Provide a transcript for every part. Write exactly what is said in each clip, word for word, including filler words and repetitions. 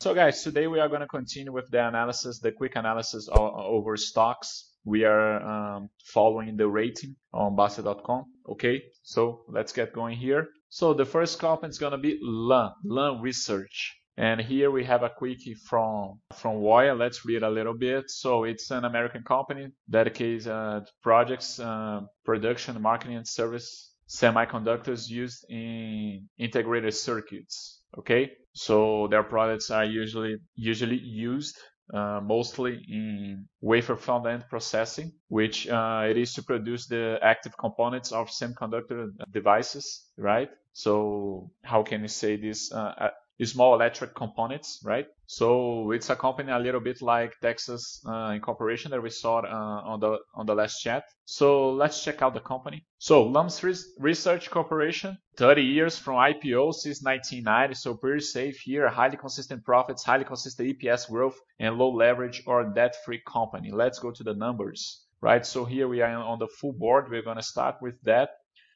So guys, today we are going to continue with the analysis, the quick analysis over stocks. We are um, following the rating on Bastter dot com. Okay, so let's get going here. So the first company is going to be Lam, Lam Research. And here we have a quickie from from Voya. Let's read a little bit. So it's an American company dedicated uh, to projects, uh, production, marketing, and service semiconductors used in integrated circuits. Okay, so their products are usually usually used uh, mostly in wafer front-end processing, which uh, it is to produce the active components of semiconductor devices, right? So how can you say this? Uh, small electric components, right? So it's a company a little bit like Texas uh, Incorporation that we saw uh, on the on the last chat. So let's check out the company. So Lam Research Corporation, thirty years from I P O since nineteen ninety, so pretty safe here, highly consistent profits, highly consistent E P S growth, and low leverage or debt-free company. Let's go to the numbers, right? So here we are on the full board. We're going to start with that.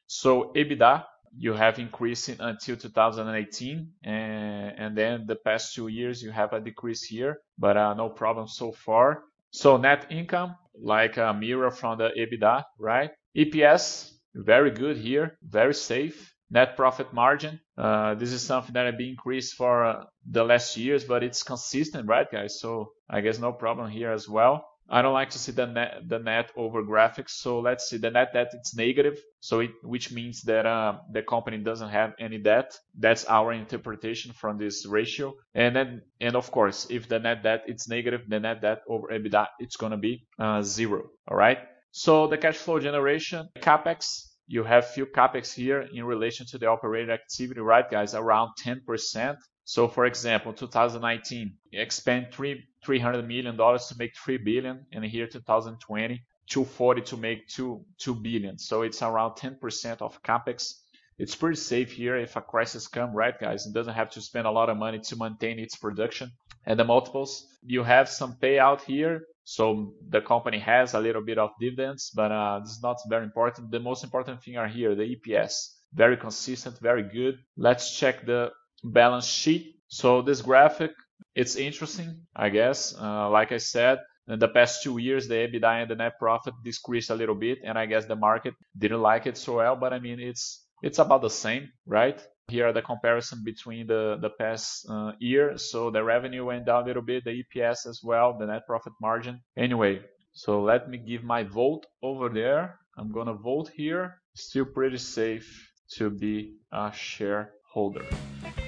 So EBITDA, you have increasing until two thousand eighteen, and, and then the past two years you have a decrease here, but uh, no problem so far. So net income, like a mirror from the EBITDA, right? E P S, very good here, very safe. Net profit margin, uh, this is something that have been increased for uh, the last years, but it's consistent, right, guys? So I guess no problem here as well. I don't like to see the net, the net over graphics. So let's see the net debt, it's negative. So it, which means that uh, the company doesn't have any debt. That's our interpretation from this ratio. And then, and of course, if the net debt it's negative, the net debt over EBITDA, it's going to be uh, zero. All right. So the cash flow generation, CapEx, you have few CapEx here in relation to the operating activity, right, guys? Around ten percent. So for example, two thousand nineteen, you expend three three hundred million dollars to make three billion, and here two thousand twenty, two forty to make two two billion. So it's around ten percent of capex. It's pretty safe here if a crisis comes, right, guys? It doesn't have to spend a lot of money to maintain its production. And the multiples, you have some payout here. So the company has a little bit of dividends, but uh, this is not very important. The most important thing are here, the E P S. Very consistent, very good. Let's check the balance sheet. So this graphic, it's interesting, I guess. Uh, like I said, in the past two years, the EBITDA and the net profit decreased a little bit, and I guess the market didn't like it so well. But I mean, it's it's about the same, right? Here are the comparison between the the past uh, year. So the revenue went down a little bit, the E P S as well, the net profit margin. Anyway, so let me give my vote over there. I'm gonna vote here. Still pretty safe to be a shareholder.